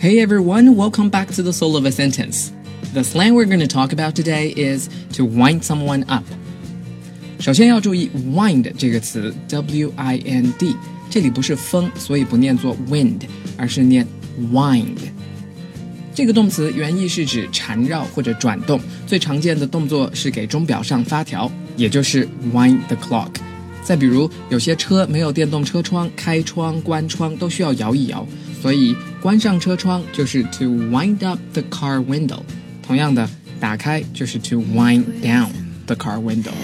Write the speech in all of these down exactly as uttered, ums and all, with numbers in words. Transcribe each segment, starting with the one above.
Hey everyone, welcome back to the Soul of a Sentence. The slang we're going to talk about today is to wind someone up. 首先要注意 wind 这个词 W I N D 这里不是风，所以不念作 wind 而是念 wind。 这个动词原意是指缠绕或者转动，最常见的动作是给钟表上发条，也就是 wind the clock。 再比如有些车没有电动车窗，开窗关窗都需要摇一摇，所以关上车窗就是 to wind up the car window， 同样的打开就是 to wind down the car window。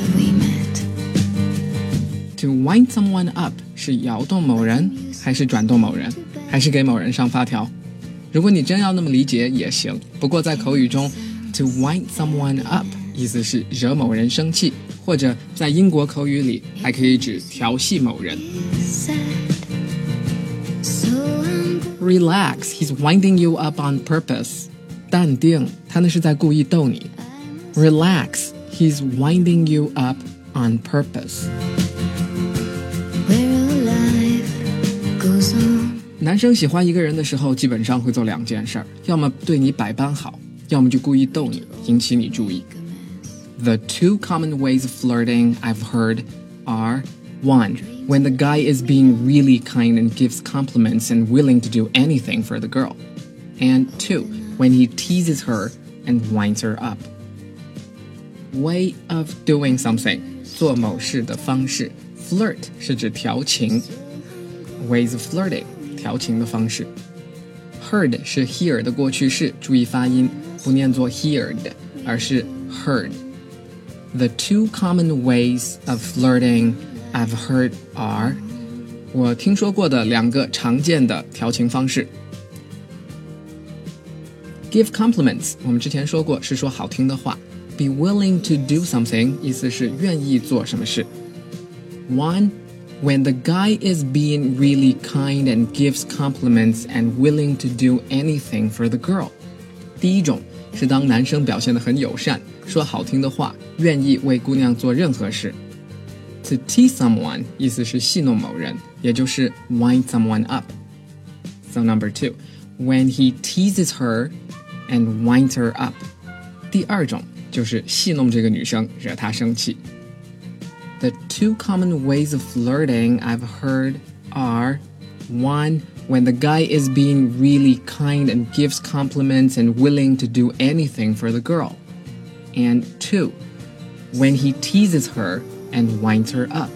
To wind someone up 是摇动某人，还是转动某人，还是给某人上发条？如果你真要那么理解也行，不过在口语中 to wind someone up 意思是惹某人生气，或者在英国口语里还可以指调戏某人。Relax, he's winding you up on purpose. 淡定，他那是在故意逗你。Relax, he's winding you up on purpose. Goes on. 男生喜欢一个人的时候，基本上会做两件事，要么对你百般好，要么就故意逗你，引起你注意。The two common ways of flirting I've heard are one, when the guy is being really kind and gives compliments and willing to do anything for the girl. And two, when he teases her and winds her up. Way of doing something, 做某事的方式。Flirt 是指调情。Ways of flirting, 调情的方式。Heard 是 hear 的过去式，注意发音，不念作 heard， 而是 heard。The two common ways of flirting I've heard are 我听说过的两个常见的调情方式。Give compliments 我们之前说过是说好听的话。Be willing to do something 意思是愿意做什么事。One, when the guy is being really kind and gives compliments and willing to do anything for the girl. 第一种是当男生表现得很友善，说好听的话，愿意为姑娘做任何事。To tease someone 意思是戏弄某人，也就是 wind someone up. So number two, when he teases her and winds her up. 第二种就是戏弄这个女生，惹她生气。The two common ways of flirting I've heard are one, when the guy is being really kind and gives compliments and willing to do anything for the girl. And two, when he teases her and winds her up.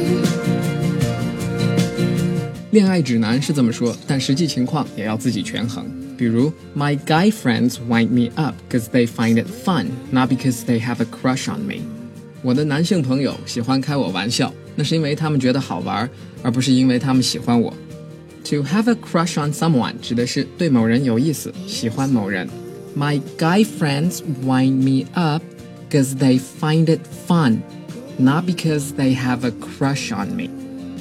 恋爱指南是这么说，但实际情况也要自己权衡。比如 My guy friends wind me up because they find it fun, not because they have a crush on me. 我的男性朋友喜欢开我玩笑，那是因为他们觉得好玩，而不是因为他们喜欢我。To have a crush on someone 指的是对某人有意思，喜欢某人。My guy friends wind me up because they find it fun, not because they have a crush on me.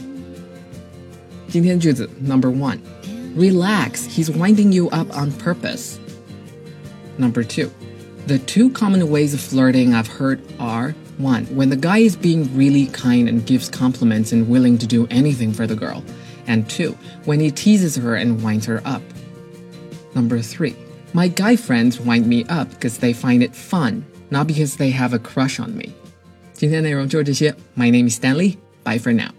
今天句子 Number one, Relax, he's winding you up on purpose. Number two, the two common ways of flirting I've heard are one, when the guy is being really kind and gives compliments and willing to do anything for the girl. And two, when he teases her and winds her up. Number three, my guy friends wind me up because they find it fun, not because they have a crush on me. 今天内容就是这些。My name is Stanley. Bye for now.